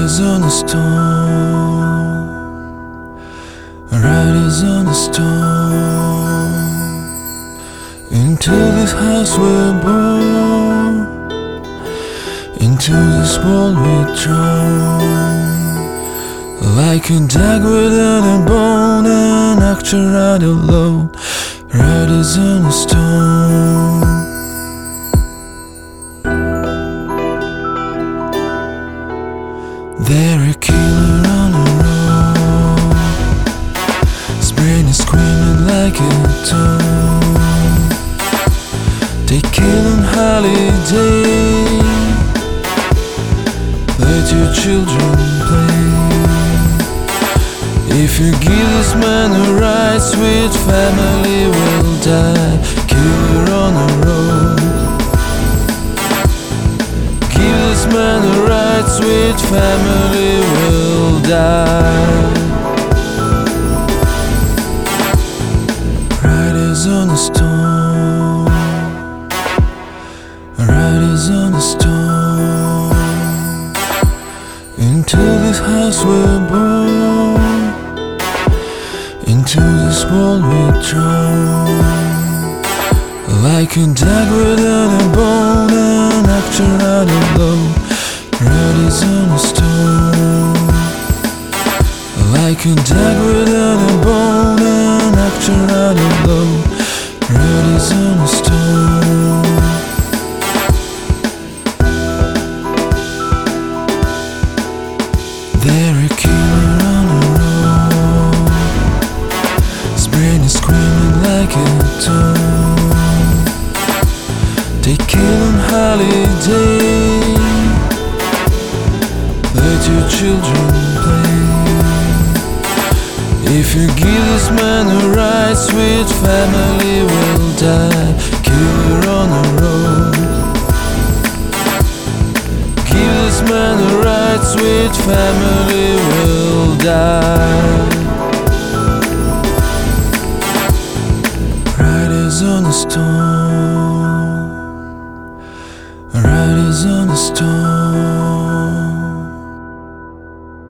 Riders on a storm, riders on a storm. Into this house we're born, into this world we're drawn. Like a dog without a bone, an actor out alone. Riders on a storm. They're a killer on the road. His brain is screaming like a dog. They kill on holiday. Let your children play. If you give this man a ride, sweet family will die. Killer on the road. Give this man a ride, sweet family will die. Riders on a storm, riders on a storm. Into this house we're born, into this world we're drawn. Like a dog without a bone, an actor out alone. Riders on a storm. Like a dog without a bone, an actor out alone. Riders on a storm. They're a killer on the road. His brain is screaming like a dog. They kill on holiday. Let your children play. If you give this man a ride, sweet family will die. Killer on the road. Give this man a ride, sweet family will die. Riders on a storm,